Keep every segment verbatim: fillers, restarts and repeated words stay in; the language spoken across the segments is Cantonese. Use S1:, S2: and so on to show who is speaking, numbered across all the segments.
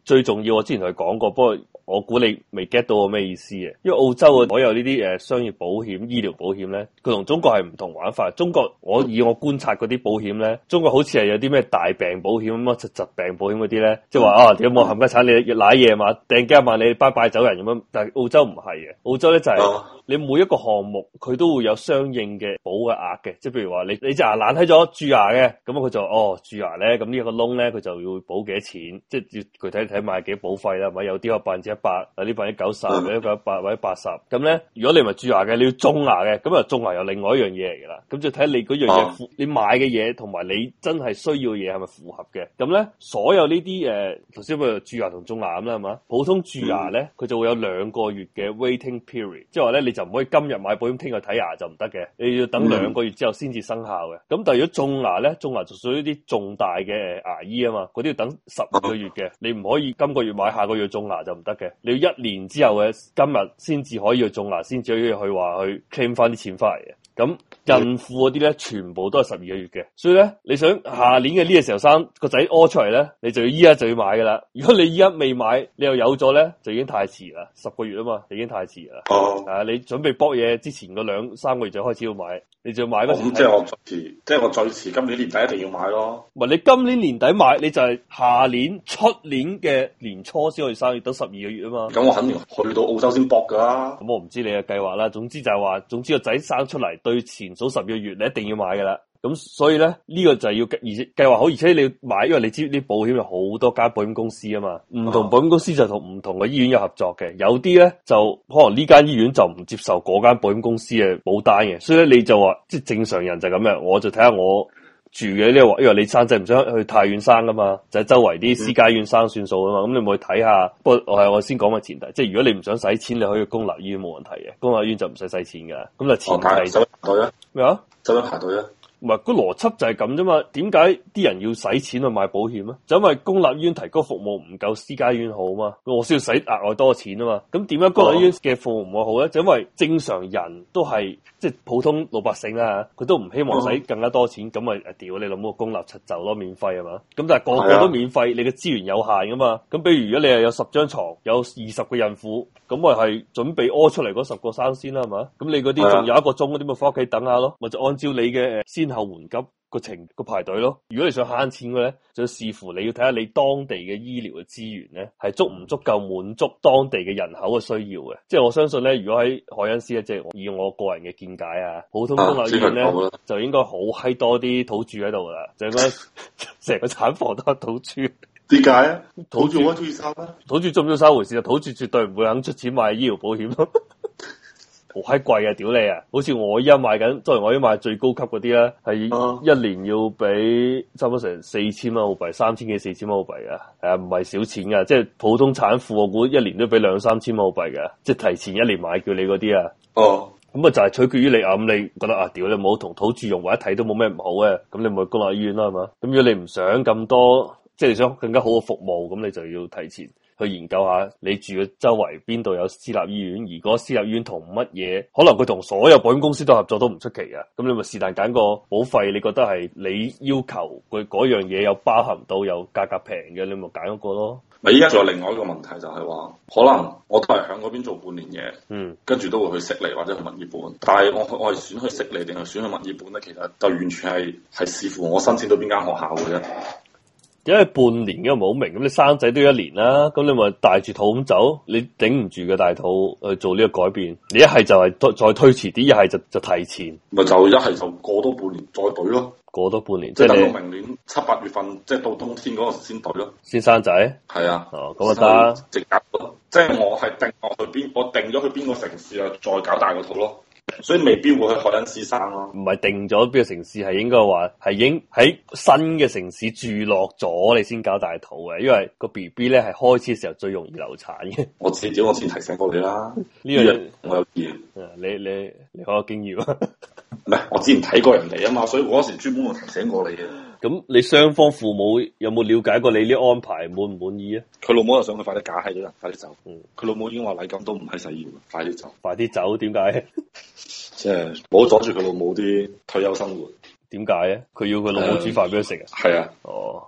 S1: 最重要我之前同佢講過，不過我估你未 get 到我咩意思嘅，因為澳洲嘅所有呢啲誒商業保險、醫療保險咧，佢同中國係唔同玩法。中國我以我觀察嗰啲保險咧，中國好似係有啲咩大病保險咁啊，疾疾病保險嗰啲咧，即係話啊，點解冇冚家鏟你要瀨嘢嘛，掟幾廿萬你拜拜走人咁樣。但係澳洲唔係嘅，澳洲咧就係、是、你每一個項目佢都會有相應嘅保嘅額嘅，即係譬如話你你隻牙爛喺咗蛀牙嘅，咁佢就哦蛀牙咧，咁呢一個窿咧佢就要保幾多錢，即係要具體睇買幾多保費啦，係咪有啲有百分之一百，有啲百分之九十，有啲一百或者八十，咁咧如果你唔係蛀牙嘅，你要種牙嘅，咁啊種牙又另外一樣嘢嚟噶啦，咁就睇你嗰樣嘢、啊、你買嘅嘢同埋你真係需要嘅嘢係咪符合嘅，咁咧所有呢啲誒頭先譬如蛀牙同種牙咁啦係嘛，普通蛀牙咧佢就會有兩個月嘅 waiting period，即係話咧你就唔可以今日買保險聽日睇牙就唔得嘅，你要等兩個月之後先至生效嘅。咁、嗯、但係如果種牙咧，種牙就屬於啲重大嘅牙醫啊嘛，嗰啲要等十二個月嘅，你唔可以今個月買下個月種牙就唔得嘅，你要一年之後嘅今日先至可以去種牙，先至可以去話去 claim 翻啲錢翻嚟嘅。咁孕婦嗰啲咧，全部都係十二個月嘅，所以咧，你想下年嘅呢個時候生個仔屙出嚟咧，你就要依家就要買噶啦。如果你依家未買，你又有咗咧，就已經太遲啦。十個月啊嘛，已經太遲啦。哦，啊，你準備搏嘢之前嗰兩三個月就開始要買，你就要買嗰時。咁、哦、即係我最遲，即係我最遲今年年底一定要買咯。唔係你今年年底買，你就係下年出年嘅年初先可以生，要等十二個月啊嘛。咁我肯定去到澳洲先搏噶啦。咁我唔知你嘅計劃啦。總之就係話，總之個仔生出嚟。對前數十個月，你一定要買噶啦。咁所以咧，呢、這個就係要而且計劃好，而且你要買，因為你知啲保險有好多間保險公司啊嘛。唔同保險公司就同唔同嘅醫院有合作嘅，有啲咧就可能呢間醫院就唔接受嗰間保險公司嘅保單嘅。所以咧，你就話即係正常人就咁樣，我就睇下我住嘅呢個，因為你生仔唔想去太遠生噶嘛，就喺周圍啲私家醫院生算數啊嘛。咁、嗯、你咪去睇下。不過我係我先講個前提，即係如果你唔想使錢，你可以去公立醫院冇問題嘅，公立醫院就唔使使錢噶。咁就前提就對啊咩啊？走咗排隊啊？唔係，個邏輯就係咁啫嘛。點解啲人要使錢去買保險啊？就因為公立醫院提供服務唔夠私家醫院好嘛，我先要使額外多錢啊嘛。咁點解公立醫院嘅服務唔好咧？就因為正常人都係即係普通老百姓啊，佢都唔希望使更加多錢，咁咪誒屌你諗個公立柒就咯，免費係嘛？咁但係個個都免費，你嘅資源有限噶嘛。咁比如如果你係有十張床，有二十個孕婦，咁咪係準備屙出嚟嗰十個生先啦，係嘛？咁你嗰啲仲有一個鐘嗰啲咪翻屋企等下咯，咪就按照你嘅先後緩急個程個排隊咯。如果你想慳錢嘅咧，就要視乎你要睇下你當地嘅醫療嘅資源咧，係足唔足夠滿足當地嘅人口嘅需要嘅。即係我相信咧，如果喺凱恩斯咧，即係以我個人嘅見解啊，普通公立醫院咧、啊、就應該好閪多啲土著喺度啦，就應該成個產房都係土著。點解啊？土著我中意生啊？土著中唔中意生回事啊？土著絕對唔會肯出錢買醫療保險咯。好閪貴啊！屌你啊！好似我依家買緊，作為我依家買最高級嗰啲咧，係一年要俾差唔多成四千蚊澳幣，三千幾四千蚊澳幣啊！係啊，唔係少錢噶，即係普通產婦我估一年都俾兩三千蚊澳幣噶，即係提前一年買叫你嗰啲啊。哦，咁啊就係取決於你啊，咁你覺得啊，屌你冇同土著融為一體都冇咩唔好嘅，咁你咪去公立醫院啦，係嘛？咁如果你唔想咁多，即係你想更加好嘅服務，咁你就要提前去研究下你住嘅周圍邊度有私立醫院，而嗰私立醫院同乜嘢，可能佢同所有保險公司都合作都唔出奇嘅。咁你咪是但揀個保費，你覺得係你要求佢嗰樣嘢有包含到有價格平嘅，你咪揀嗰個咯。咪依家仲有另外一個問題就係話，可能我都係喺嗰邊做半年嘢，嗯，跟住都會去悉尼或者去墨爾本，但係我我係選去悉尼定係選去墨爾本咧？其實就完全係係視乎我申請到邊間學校嘅啫。因為半年嘅唔係好明，咁你生仔都要一年啦，咁你咪大住肚咁走，你頂唔住嘅大肚去做呢個改變，你一係就係再再推遲啲，一係就就提前，咪就一係就過多半年再懟咯，過多半年，即係等到明年七八月份，即係到冬天嗰個時先懟咯，先生仔，係啊，哦咁啊得，直夾咯，即係我係定我去邊，我定咗去邊個城市啊，再搞大個肚咯。所以未必會去凱恩斯生咯，唔係定咗邊個城市，係應該話係已經喺新嘅城市住落咗，你先搞大肚嘅，因為個 B B 咧係開始嘅時候最容易流產嘅。我遲啲我先提醒過你啦，呢樣我有見，你你你好有經驗啊？唔係，我之前睇過人哋啊嘛，所以我嗰時專門提醒過你嘅。咁你雙方父母有冇了解過你呢安排滿唔滿意啊？佢老母又想佢快啲嫁，係咗人，快啲走。嗯，佢老母已經話禮金都唔係使要，快啲走，快啲走。點解？即係唔好阻住佢老母啲退休生活。點解啊？佢要佢老母煮飯俾佢食啊？係啊。哦。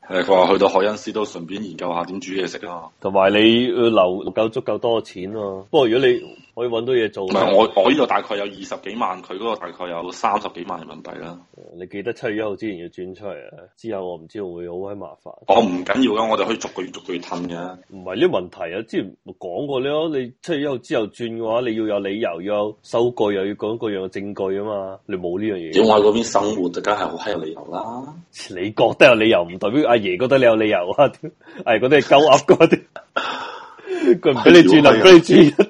S2: 誒，佢話去到海恩斯都順便研究下點煮嘢食啊。
S1: 同埋你要留夠足夠多嘅錢咯。不過如果你可以揾到嘢做，
S2: 唔係我我呢度大概有二十幾萬，佢嗰個大概有三十幾萬人民幣啦。
S1: 你記得七月一號之前要轉出嚟啊！之後我唔知會會好閪麻煩。
S2: 我唔緊要噶，我哋可以逐個月逐個月褪嘅。
S1: 唔係呢個問題啊！之前講過咯，你七月一號之後轉嘅話，你要有理由，要有收據，又要講各樣嘅證據啊嘛。你冇呢樣嘢。
S2: 點我喺嗰邊生活就梗係好閪有理由啦。
S1: 你覺得有理由，唔代表阿爺覺得你有理由啊！阿爺覺得係鳩噏嗰啲，佢唔俾你轉，唔俾你轉。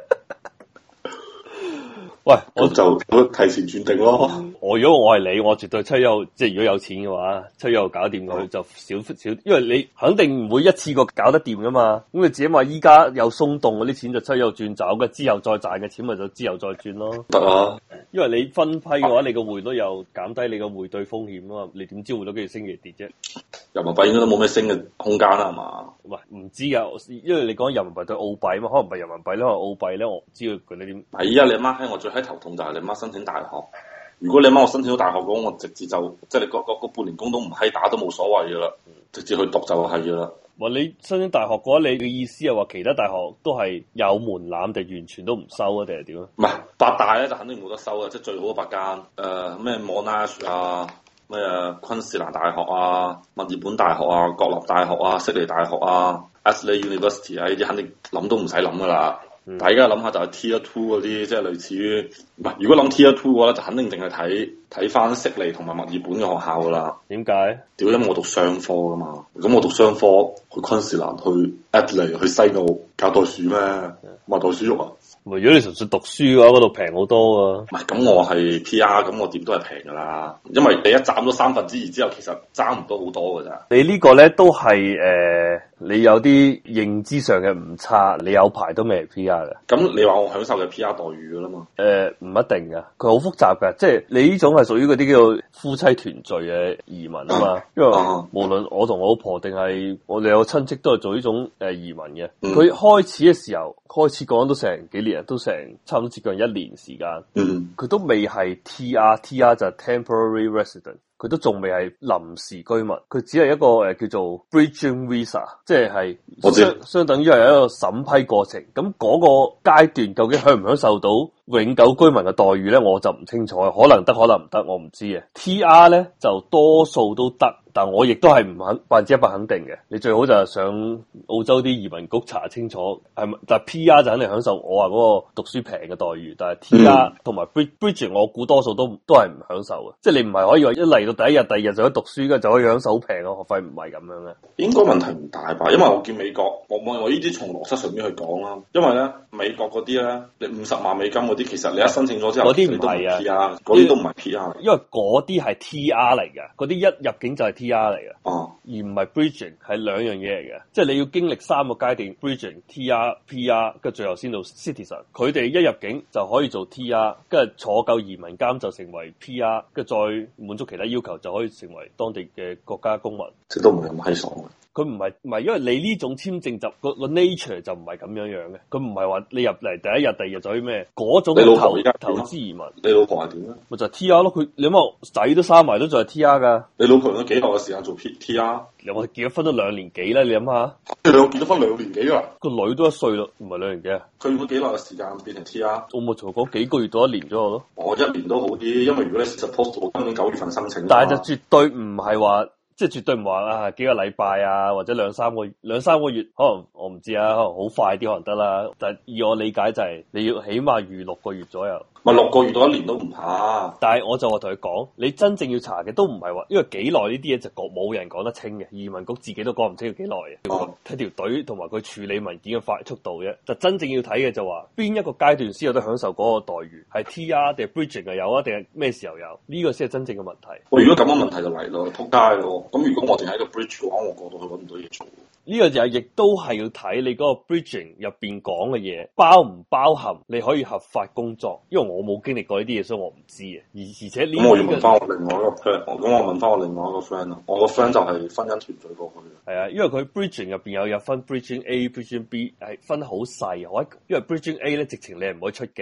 S1: 喂，我就
S2: 我提前轉定咯。
S1: 我如果我係你，我絕對七一號，即係如果有錢嘅話，七一號搞掂佢就少少，因為你肯定唔會一次過搞得掂噶嘛。咁你自己話依家有鬆動嗰啲錢就七一號轉走，嘅之後再賺嘅錢咪就之後再轉咯。
S2: 得啊，
S1: 因為你分批嘅話，你個匯率又減低你個匯兌風險啊嘛。你點知匯率幾時升幾時跌啫？
S2: 人民幣應該都冇咩升嘅空間啦，係嘛？
S1: 喂，唔知噶，因為你講人民幣對澳幣嘛，可能唔係人民幣咧，可能澳幣咧，我唔知佢佢哋點。
S2: 係依家你阿媽喺我最閪頭痛就係你阿媽申請大學。如果你阿媽我申請到大學嘅話，我直接就即係你個個個半年工都唔閪打都冇所謂噶啦，直接去讀就係噶啦。
S1: 話你申請大學嘅話，你嘅意思係話其他大學都係有門檻定完全都唔收啊？定係點啊？
S2: 唔係八大咧就肯定冇得收啊！即係最好嘅八間，誒咩 Monash 啊，咩昆士蘭大學啊，墨爾本大學啊，國立大學啊，悉尼大學啊 Adelaide University 啊，呢啲肯定諗都唔使諗噶啦。嗯、大家諗下就係 Tier Two 嗰啲，即係類似於唔係。如果諗 Tier Two 嘅話咧，就肯定淨係睇睇翻悉尼同埋墨爾本嘅學校噶啦。點解？屌，因為我讀商科噶嘛，咁我讀商科去昆士蘭、去 Adelaide、去西澳搞袋鼠咩？賣袋鼠肉啊！
S1: 如果你純粹讀書嘅話，嗰度平好多啊。
S2: 唔係，咁我係 P R，咁我點都係平噶啦。因為你一斬咗三分之二之後，其實爭唔到好多噶咋。
S1: 你個呢個咧都係誒、呃，你有啲認知上嘅誤差，你有排都未係 P R 嘅。咁
S2: 你話我享受嘅 P R 待遇噶啦嘛？
S1: 誒、呃，唔一定噶，佢好複雜噶。即係你呢種係屬於嗰啲叫做夫妻團聚嘅移民啊嘛。因為無論我同我老婆定係我哋有親戚都係做呢種誒移民嘅。佢、嗯、開始嘅時候，開始講都成幾年，都成差唔多接近一年時間。嗯，佢都未係 T R，T R 就係 temporary resident。佢都仲未係臨時居民，佢只係一個誒、呃、叫做 bridging visa，即係相相等於係一個審批過程。咁嗰個階段究竟享唔享受到永久居民嘅待遇咧？我就唔清楚，可能得，可能唔得，我唔知嘅。T R 咧就多數都得，但我亦都係唔肯百分之一百肯定嘅。你最好就係上澳洲啲移民局查清楚係咪。但係 P R 就肯定享受我話嗰個讀書平嘅待遇，但係 T R 同埋 bridging 我估多數都都係唔享受嘅。即係你唔係可以話一嚟到第一日、第二日就可以讀書嘅，就可以享受好平嘅學費，唔係咁樣嘅。應該問題唔大吧？因為我見美國，我我我呢啲從邏輯上面去講啦。因為咧美國嗰啲咧，你五十萬美金嗰啲，其實你一申請咗之後，嗰啲唔係啊，嗰啲都唔係 P R，因為嗰啲係 T R 嚟嘅，嗰啲一入境就係 T R 嚟嘅，哦，而唔係 bridging，係兩樣嘢嚟嘅。即係你要經歷三個階段 bridging、T R、P R， 跟住最後先到 citizen。佢哋一入境就可以做 T R， 跟住坐夠移民監就成為 P R， 跟住再滿足其他要求就可以成為當地嘅國家公民。即都唔係咁閪爽嘅。佢唔係唔係，因為你呢種簽證就個個 nature 就唔係咁樣樣嘅。佢唔係話你入嚟第一日、第二日就去咩嗰種投投資移民。你老婆係點咧？咪就係 T R 咯。佢你諗下仔都生埋都仲係 T R 噶。你老婆用咗幾耐嘅時間做 P T R？我哋結咗婚都兩年幾啦，你諗下。你兩個結咗婚兩年幾啦？個女都一歲咯，唔係兩年幾啊？佢用咗幾耐嘅時間變成 T R？我冇同佢講幾個月到一年左右咯。我一年都好啲，因為如果你 suppose 我今年九月份申請，但係就絕對唔係話。即係絕對唔話啊幾個禮拜啊，或者兩三個月兩三個月，可能我唔知啊，可能好快啲可能得啦。但係以我理解就係、是、你要起碼預六個月左右。咪六個月到一年都唔怕。但係我就話同佢講，你真正要查嘅都唔係話，因為幾耐呢啲嘢就講冇人講得清嘅，移民局自己都講唔清要幾耐嘅。睇條隊同埋佢處理文件嘅快速度啫。就真正要睇嘅就話邊一個階段先有得享受嗰個待遇，係 T R 定係 bridging 係有啊，定係咩時候有？呢、這個先係真正嘅問題。喂，如果咁嘅問題就嚟咯，撲街咯。咁如果我淨係一個 bridge 嘅話，我過到去搵唔到嘢做。呢個就係亦都係要睇你嗰個 bridging 入邊講嘅嘢包唔包含你可以合法工作，因為我冇經歷過呢啲嘢，所以我唔知啊。而而且呢，咁我要問翻我另外一個 friend，咁我問翻我另外一個 friend 咯。我個 friend 就係婚姻團聚過去嘅。係啊，因為佢 bridging 入邊有有分 bridging A、bridging B，係分好細。我因為 bridging A 咧，直情你係唔可以出境嘅。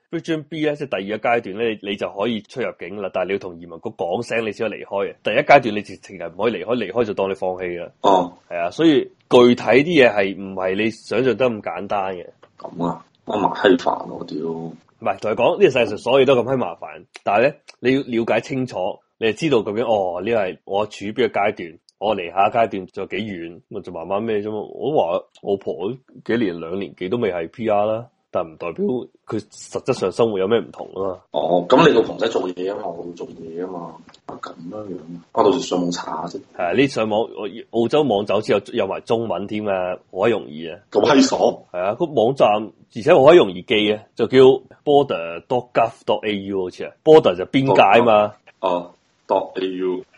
S1: Region B 咧，即係第二個階段咧，你就可以出入境啦，但係你要同移民局講聲，你先可以離開嘅。第一階段你直情係唔可以離開，離開就當你放棄啦。
S2: 哦，
S1: 係啊，所以具體啲嘢係唔係你想象得咁簡單嘅。
S2: 咁啊，我麻閪煩我屌。
S1: 唔係同你講呢個世界上所有都咁閪麻煩，但係咧你要了解清楚，你就知道究竟哦呢個係我處於邊個階段。我離下一階段仲有幾遠，咪就慢慢咩啫嘛。我話我婆幾年兩年幾都未係 P R 啦，但唔代表佢實質上生活有咩唔同啊嘛。
S2: 哦，咁你老婆仔做嘢啊嘛，我要做嘢啊嘛，咁樣樣，我到時上網查下先。
S1: 係啊，呢上網澳洲網站之後有埋中文添啊，好閪容易啊。
S2: 咁閪爽。
S1: 係啊，個網站而且好閪容易記啊，就叫 border dot gov dot a u 好似啊 ，border 就邊界啊嘛。
S2: 哦，dot a u。